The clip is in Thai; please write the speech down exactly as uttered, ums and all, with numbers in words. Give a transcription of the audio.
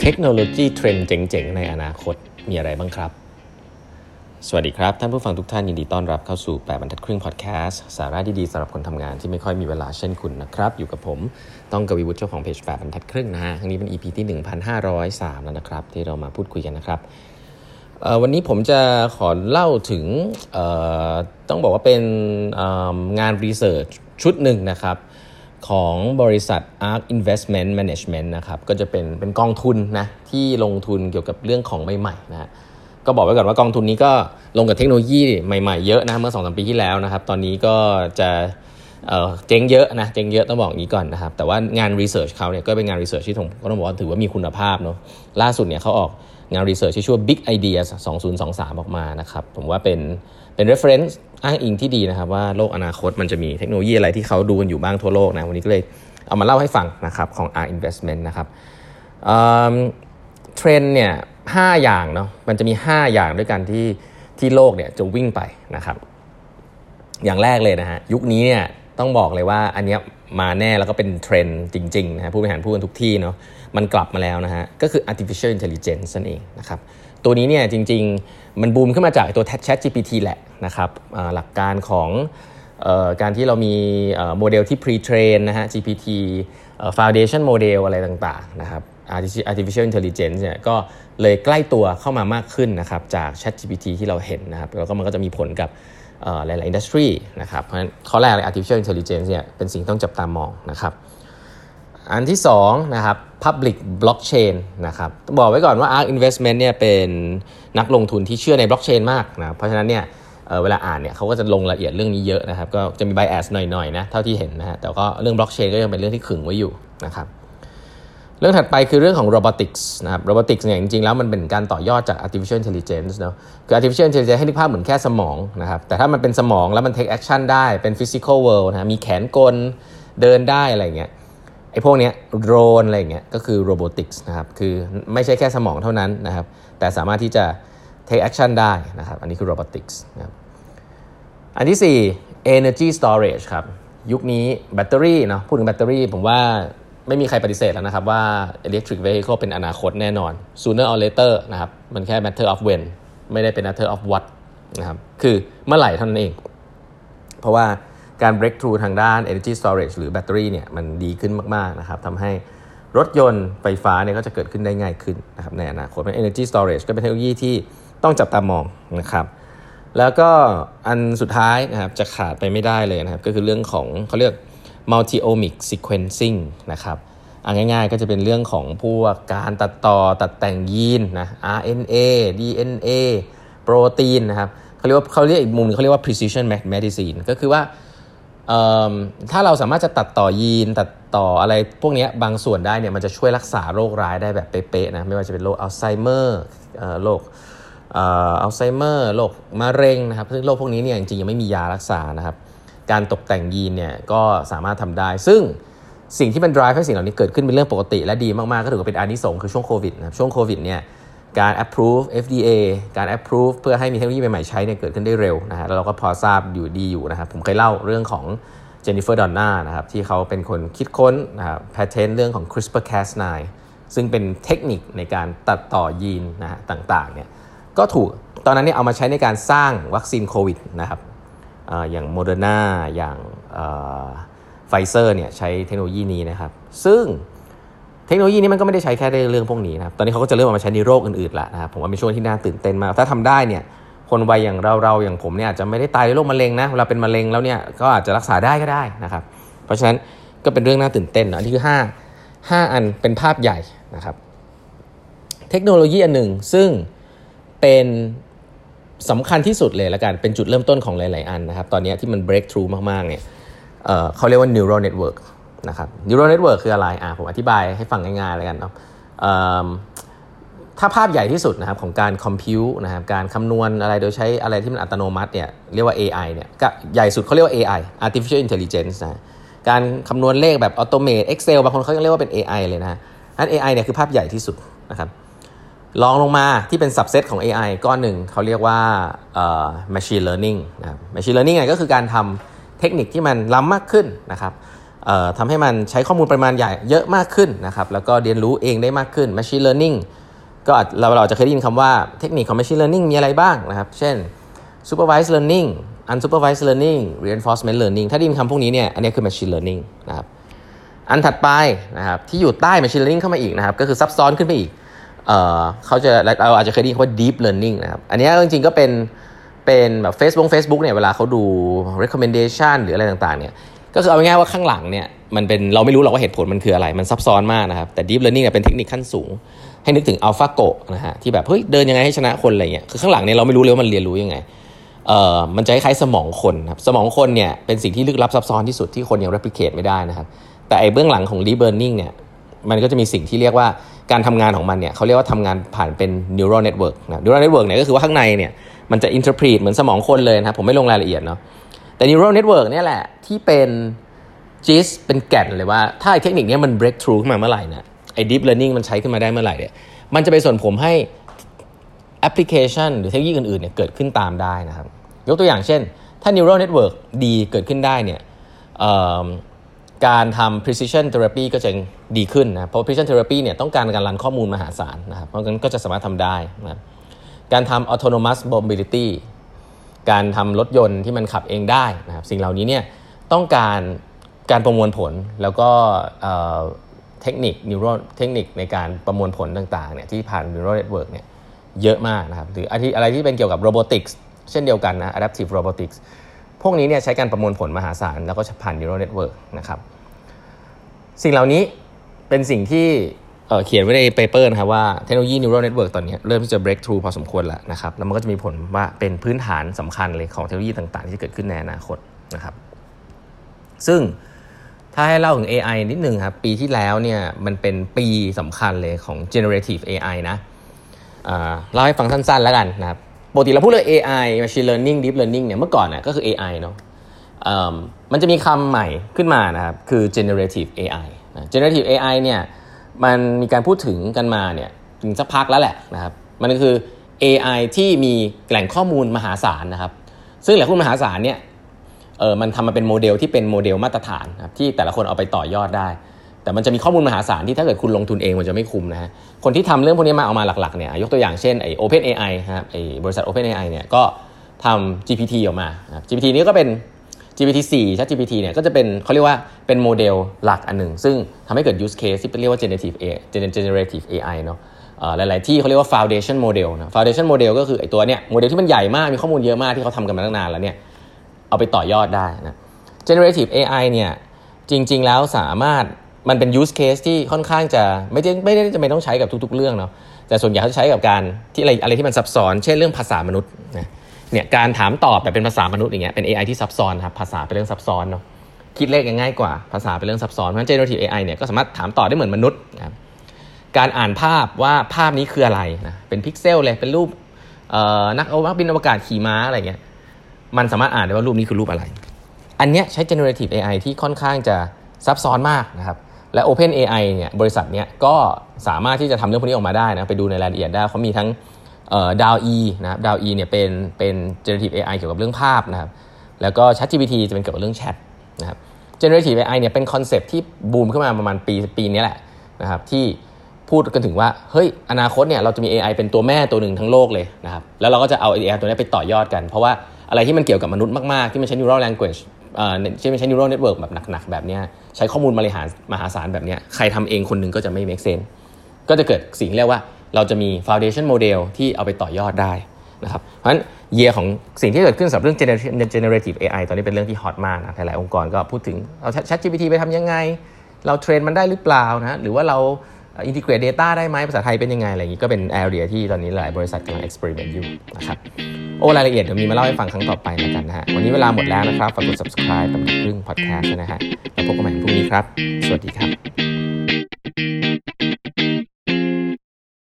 เทคโนโลยีเทรนด์เจ๋งๆในอนาคตมีอะไรบ้างครับสวัสดีครับท่านผู้ฟังทุกท่านยินดีต้อนรับเข้าสู่แปดบรรทัดครึ่งพอดแคสต์สาระดีๆสำหรับคนทำงานที่ไม่ค่อยมีเวลาเช่นคุณนะครับอยู่กับผมต้องกวีวุฒิเจ้าของเพจแปดบรรทัดครึ่งนะฮะครั้งนี้เป็น อี พี ที่ หนึ่งพันห้าร้อยสาม แล้วนะครับที่เรามาพูดคุยกันนะครับวันนี้ผมจะขอเล่าถึงต้องบอกว่าเป็นงานรีเสิร์ชชุดหนึ่งนะครับของบริษัท Ark Investment Management นะครับก็จะเป็นเป็นกองทุนนะที่ลงทุนเกี่ยวกับเรื่องของใหม่ๆนะก็บอกไว้ก่อนว่ากองทุนนี้ก็ลงกับเทคโนโลยีใหม่ๆเยอะนะเมื่อ สองถึงสาม ปีที่แล้วนะครับตอนนี้ก็จะเอ่อเจ๊งเยอะนะเจ๊งเยอะต้องบอกอย่างนี้ก่อนนะครับแต่ว่างานรีเสิร์ชเขาเนี่ยก็เป็นงานรีเสิร์ชที่ผมก็ต้องบอกว่าถือว่ามีคุณภาพเนาะล่าสุดเนี่ยเขาออกงานรีเสิร์ชที่ชื่อว่า Big Ideas สองพันยี่สิบสามออกมานะครับผมว่าเป็นเป็น reference อ้างอิงที่ดีนะครับว่าโลกอนาคตมันจะมีเทคโนโลยีอะไรที่เขาดูกันอยู่บ้างทั่วโลกนะวันนี้ก็เลยเอามาเล่าให้ฟังนะครับของ Ark Investment นะครับเอ่อเทรนด์เนี่ยห้าอย่างเนาะมันจะมีห้าอย่างด้วยกันที่ที่โลกเนี่ยจะวิ่งไปนะครับอย่างแรกเลยนะฮะยุคนี้เนี่ยต้องบอกเลยว่าอันเนี้ยมาแน่แล้วก็เป็นเทรนด์จริงๆนะผู้บริหารพูดกันทุกที่เนาะมันกลับมาแล้วนะฮะก็คือ artificial intelligence นั่นเองนะครับตัวนี้เนี่ยจริงๆมันบูมขึ้นมาจากตัว Chat จี พี ที แหละนะครับหลักการของเอ่อการที่เรามีโมเดลที่ pre-train นะฮะ จี พี ที foundation model อะไรต่างๆนะครับ artificial intelligence เนี่ยก็เลยใกล้ตัวเข้ามามากขึ้นนะครับจาก Chat จี พี ที ที่เราเห็นนะครับแล้วก็มันก็จะมีผลกับหลายๆอินดัสทรีนะครับเพราะฉะนั้นข้อแรกเลย artificial intelligence เนี่ยเป็นสิ่งต้องจับตามองนะครับอันที่สองนะครับ public blockchain นะครับต้องบอกไว้ก่อนว่า Ark Investment เนี่ยเป็นนักลงทุนที่เชื่อใน blockchain มากนะเพราะฉะนั้นเนี่ย เ, เวลาอ่านเนี่ยเขาก็จะลงรายละเอียดเรื่องนี้เยอะนะครับก็จะมี bias หน่อยๆนะเท่าที่เห็นนะฮะแต่ก็เรื่อง blockchain ก็ยังเป็นเรื่องที่ขึงไว้อยู่นะครับเรื่องถัดไปคือเรื่องของ robotics นะครับ robotics เนี่ยจริงๆแล้วมันเป็นการต่อยอดจาก artificial intelligence เนาะคือ artificial intelligence ให้นึกภาพเหมือนแค่สมองนะครับแต่ถ้ามันเป็นสมองแล้วมัน take action ได้เป็น physical world นะมีแขนกลเดินได้อะไรเงี้ยไอ้พวกเนี้ยโดรนอะไรเงี้ยก็คือ robotics นะครับคือไม่ใช่แค่สมองเท่านั้นนะครับแต่สามารถที่จะ take action ได้นะครับอันนี้คือ robotics นะครับอันที่สี่ energy storage ครับยุคนี้แบตเตอรี่เนาะพูดถึงแบตเตอรี่ผมว่าไม่มีใครปฏิเสธแล้วนะครับว่า electric vehicle เป็นอนาคตแน่นอน sooner or later นะครับมันแค่ matter of when ไม่ได้เป็น matter of what นะครับคือเมื่อไหร่เท่านั้นเองเพราะว่าการ breakthrough ทางด้าน energy storage หรือแบตเตอรี่เนี่ยมันดีขึ้นมากๆนะครับทำให้รถยนต์ไฟฟ้าเนี่ยก็จะเกิดขึ้นได้ง่ายขึ้นนะครับในอนาคต energy storage ก็เป็นเทคโนโลยีที่ต้องจับตามองนะครับแล้วก็อันสุดท้ายนะครับจะขาดไปไม่ได้เลยนะครับก็คือเรื่องของเขาเรียกmulti-omic sequencing นะครับอ่ะง่ายๆก็จะเป็นเรื่องของพวกการตัดต่อตัดแต่งยีนนะ อาร์ เอ็น เอ ดี เอ็น เอ โปรตีนนะครับเขาเรียกว่าเขาเรียกอีกมุมนึงเขาเรียกว่า precision medicine ก็คือว่าถ้าเราสามารถจะตัดต่อยีนตัดต่ออะไรพวกนี้บางส่วนได้เนี่ยมันจะช่วยรักษาโรคร้ายได้แบบเป๊ะๆนะไม่ว่าจะเป็นโรคอัลไซเมอร์โรคอัลไซเมอร์โรคมะเร็งนะครับซึ่งโรคพวกนี้เนี่ยจริงๆยังไม่มียารักษานะครับการตกแต่งยีนเนี่ยก็สามารถทำได้ซึ่งสิ่งที่มัน drive ให้สิ่งเหล่านี้เกิดขึ้นเป็นเรื่องปกติและดีมากๆก็ถือว่าเป็นอานิสงส์คือช่วงโควิดนะช่วงโควิดเนี่ยการ approve เอฟ ดี เอ การ approve เพื่อให้มีเทคโนโลยีใหม่ๆใช้เนี่ยเกิดขึ้นได้เร็วนะฮะแล้วเราก็พอทราบอยู่ดีอยู่นะครับผมเคยเล่าเรื่องของเจนนิเฟอร์ดอนน่านะครับที่เขาเป็นคนคิดค้นนะครับ patent เรื่องของ CRISPR แคส ไนน์ ซึ่งเป็นเทคนิคในการตัดต่อยีนนะฮะต่างๆเนี่ยก็ถูกตอนนั้นเนี่ยเอามาใช้ในการสร้างวัคซีนโควิดนะครับอย่างโมเดอร์นาอย่างไฟเซอร์เนี่ยใช้เทคโนโลยีนี้นะครับซึ่งเทคโนโลยีนี้มันก็ไม่ได้ใช้แค่ในเรื่องพวกนี้นะครับตอนนี้เขาก็จะเริ่มเอามาใช้ในโรคอื่นๆแล้วนะครับผมว่าเป็นช่วงที่น่าตื่นเต้นมากถ้าทำได้เนี่ยคนวัยอย่างเราๆอย่างผมเนี่ยอาจจะไม่ได้ตายด้วยโรคมะเร็งนะเวลาเป็นมะเร็งแล้วเนี่ยก็อาจจะรักษาได้ก็ได้นะครับเพราะฉะนั้นก็เป็นเรื่องน่าตื่นเต้นนะอันนี้คือห้า ห้าอันเป็นภาพใหญ่นะครับเทคโนโลยีอันหนึ่งซึ่งเป็นสำคัญที่สุดเลยละกันเป็นจุดเริ่มต้นของหลายๆอันนะครับตอนนี้ที่มัน breakthrough มากๆเนี่ย เอ่อเขาเรียกว่า neural network นะครับ neural network คืออะไรอ่ะผมอธิบายให้ฟังง่ายๆแล้วกันเนาะถ้าภาพใหญ่ที่สุดนะครับของการ compute นะครับการคำนวณอะไรโดยใช้อะไรที่มันอัตโนมัติเนี่ยเรียกว่า เอ ไอ เนี่ยก็ใหญ่สุดเขาเรียกว่า เอ ไอ artificial intelligence นะการคำนวณเลขแบบ automate Excel บางคนเขายังเรียกว่าเป็น เอ ไอ เลยนะอัน เอ ไอ เนี่ยคือภาพใหญ่ที่สุดนะครับลองลงมาที่เป็น subset ของ เอ ไอ ก้อนหนึ่งเขาเรียกว่าเอ่อ machine learning นะครับ machine learning เนี่ยก็คือการทำเทคนิคที่มันล้ำมากขึ้นนะครับเอ่อทำให้มันใช้ข้อมูลปริมาณใหญ่เยอะมากขึ้นนะครับแล้วก็เรียนรู้เองได้มากขึ้น machine learning ก็เราเราจะเคยได้ยินคำว่าเทคนิคของ machine learning มีอะไรบ้างนะครับเช่น supervised learning unsupervised learning reinforcement learning ถ้าได้ยินคำพวกนี้เนี่ยอันนี้คือ machine learning นะครับอันถัดไปนะครับที่อยู่ใต้ machine learning เข้ามาอีกนะครับก็คือซับซ้อนขึ้นไปอีกเอ่อเขาจะเราอาจจะเคยได้ยินคำว่า deep learning นะครับอันนี้จริงๆก็เป็นเป็นแบบ Facebook Facebook เนี่ยเวลาเขาดู recommendation หรืออะไรต่างๆเนี่ยก็คือเอาง่ายๆว่าข้างหลังเนี่ยมันเป็นเราไม่รู้หรอกว่าเหตุผลมันคืออะไรมันซับซ้อนมากนะครับแต่ deep learning เนี่ยเป็นเทคนิคขั้นสูงให้นึกถึง AlphaGo นะฮะที่แบบเฮ้ยเดินยังไงให้ชนะคนอะไรเงี้ยคือข้างหลังเนี่ยเราไม่รู้เลยว่ามันเรียนรู้ยังไงเอ่อมันจะคล้ายๆสมองคนครับสมองคนเนี่ยเป็นสิ่งที่ลึกลับซับซ้อนที่สุดที่คนยัง replicate ไม่ได้นะครับแต่ไอ้เบื้องหลังของ deep learning เนี่ยมันก็จะมีสิ่งที่เรียกว่าการทำงานของมันเนี่ยเขาเรียกว่าทำงานผ่านเป็น neural network นะ neural network เนี่ยก็คือว่าข้างในเนี่ยมันจะ interpret เหมือนสมองคนเลยนะครับผมไม่ลงรายละเอียดเนาะแต่ neural network เนี่ยแหละที่เป็นจีสเป็นแก่นเลยว่าถ้าไอ้เทคนิคนี้มัน breakthrough ขึ้นมาเมื่อไหร่นะไอ้ deep learning มันใช้ขึ้นมาได้เมื่อไหร่เนี่ยมันจะไปส่วนผมให้ application หรือเทคโนโลยีอื่นๆเนี่ยเกิดขึ้นตามได้นะครับยกตัวอย่างเช่นถ้า neural network ดีเกิดขึ้นได้เนี่ยการทำ precision therapy ก็จะดีขึ้นนะเพราะ precision therapy เนี่ยต้องการการรันข้อมูลมหาศาลนะครับเพราะงั้นก็จะสามารถทำได้นะการทำ autonomous mobility การทำรถยนต์ที่มันขับเองได้นะครับสิ่งเหล่านี้เนี่ยต้องการการประมวลผลแล้วก็เทคนิค neural เทคนิคในการประมวลผลต่างๆเนี่ยที่ผ่าน neural network เนี่ยเยอะมากนะครับหรืออะไรที่เป็นเกี่ยวกับ robotics เช่นเดียวกันนะ adaptive robotics พวกนี้เนี่ยใช้การประมวลผลมหาศาลแล้วก็ผ่าน neural network นะครับสิ่งเหล่านี้เป็นสิ่งที่เอ่อเขียนไว้ในเปเปอร์นะครับว่าเทคโนโลยี neural network ตอนนี้เริ่มที่จะ breakthrough พอสมควรแล้วนะครับแล้วมันก็จะมีผลว่าเป็นพื้นฐานสำคัญเลยของเทคโนโลยีต่างๆที่จะเกิดขึ้นในอนาคตนะครับซึ่งถ้าให้เล่าถึง เอ ไอ นิดนึงครับปีที่แล้วเนี่ยมันเป็นปีสำคัญเลยของ generative เอ ไอ นะอ่าเล่าให้ฟังสั้นๆแล้วกันนะครับปกติเราพูดเรื่อง เอ ไอ machine learning deep learning เนี่ยเมื่อก่อนน่ะก็คือ เอ ไอ เนาะมันจะมีคำใหม่ขึ้นมานะครับคือ generative เอ ไอ นะ generative เอ ไอ เนี่ยมันมีการพูดถึงกันมาเนี่ยถึงสักพักแล้วแหละนะครับมันก็คือ เอ ไอ ที่มีแหล่งข้อมูลมหาศาลนะครับซึ่งแหล่งข้อมูลมหาศาลเนี่ยเออมันทำมาเป็นโมเดลที่เป็นโมเดลมาตรฐานนะครับที่แต่ละคนเอาไปต่อยอดได้แต่มันจะมีข้อมูลมหาศาลที่ถ้าเกิดคุณลงทุนเองมันจะไม่คุ้มนะฮะคนที่ทำเรื่องพวกนี้มาเอามาหลักๆเนี่ยยกตัวอย่างเช่นไอ้ OpenAI ครับไอ้บริษัท OpenAI เนี่ยก็ทำ จี พี ที ออกมา จี พี ที นี้ก็เป็น จี พี ที โฟร์ ChatGPT เนี่ยก็จะเป็นเขาเรียกว่าเป็นโมเดลหลักอันหนึ่งซึ่งทำให้เกิด use case ที่เรียกว่า generative เอ generative เอ ไอ เนาะหลายๆที่เขาเรียกว่า foundation model นะ foundation model ก็คือไอ้ตัวเนี้ยโมเดลที่มันใหญ่มากมีข้อมูลเยอะมากที่เขาทำกันมาตั้งนานแล้วเนี่ยเอาไปต่อยอดได้นะ generative เอ ไอ เนี่ยจริงๆแล้วสามารถมันเป็น use case ที่ค่อนข้างจะไม่ได้ไม่ได้จำเป็นต้องใช้กับทุกๆเรื่องเนาะแต่ส่วนใหญ่เขาใช้กับการที่อะไรอะไรที่มันซับซ้อนเช่นเรื่องภาษามนุษย์นะเนี่ยการถามตอบแบบเป็นภาษามนุษย์อย่างเงี้ยเป็น เอ ไอ ที่ซับซ้อนครับภาษาเป็นเรื่องซับซ้อนเนาะคิดเลขง่ายกว่าภาษาเป็นเรื่องซับซ้อนเพราะฉะนั้น generative เอ ไอ เนี่ยก็สามารถถามตอบได้เหมือนมนุษย์นะครับการอ่านภาพว่าภาพนี้คืออะไรนะเป็นพิกเซลเลยเป็นรูปเอ่อนักเอานักบินอวกาศขี่ม้าอะไรเงี้ยมันสามารถอ่านได้ว่ารูปนี้คือรูปอะไรอันเนี้ยใช้ generative เอ ไอ ที่ค่อนข้างจะซับซ้อนมากนะครับและ OpenAI เนี่ยบริษัทเนี้ยก็สามารถที่จะทำเรื่องพวกนี้ออกมาได้นะไปดูในรายละเอียดได้เขามีทั้งเอ่อ ดาว อี นะครับ ดาว อี เนี่ยเป็นเป็น generative เอ ไอ เกี่ยวกับเรื่องภาพนะครับแล้วก็ ChatGPT จะเป็นเกี่ยวกับเรื่องแชทนะครับ generative เอ ไอ เนี่ยเป็นคอนเซ็ปต์ที่บูมขึ้นมาประมาณปีปีนี้แหละนะครับที่พูดกันถึงว่าเฮ้ยอนาคตเนี่ยเราจะมี เอ ไอ เป็นตัวแม่ตัวหนึ่งทั้งโลกเลยนะครับแล้วเราก็จะเอา เอ ไอ ตัวนี้ไปต่อยอดกันเพราะว่าอะไรที่มันเกี่ยวกับมนุษย์มากๆที่มันใช้ neural language เอ่อที่มันใช้ neural network แบบหนักๆแบบนี้ใช้ข้อมูลมหามหาศาลแบบนี้ใครทำเองคนหนึ่งก็จะไม่ make sense ก็จะเกิดสิ่งเรียกว่าเราจะมี foundation model ที่เอาไปต่อยอดได้นะครับเพราะฉะนั้นเยียของสิ่งที่เกิดขึ้นสำหรับเรื่อง generative เอ ไอ ตอนนี้เป็นเรื่องที่ฮอตมากนะหลายๆองค์กรก็พูดถึงเอา ChatGPT ไปทำยังไงเราเทรนมันได้หรือเปล่านะหรือว่าเรา integrate data ได้ไหมภาษาไทยเป็นยังไงอะไรอย่างนี้ก็เป็น area ที่ตอนนี้หลายบริษัทกำลัง experiment อยู่นะครับโอ้รายละเอียดเดี๋ยวมีมาเล่าให้ฟังครั้งต่อไปแล้วกันนะฮะวันนี้เวลาหมดแล้วนะครับฝากกด subscribe กับครึ่ง podcast นะฮะแล้วพบกันใหม่พรุ่งนี้ครับสวัสดีครับ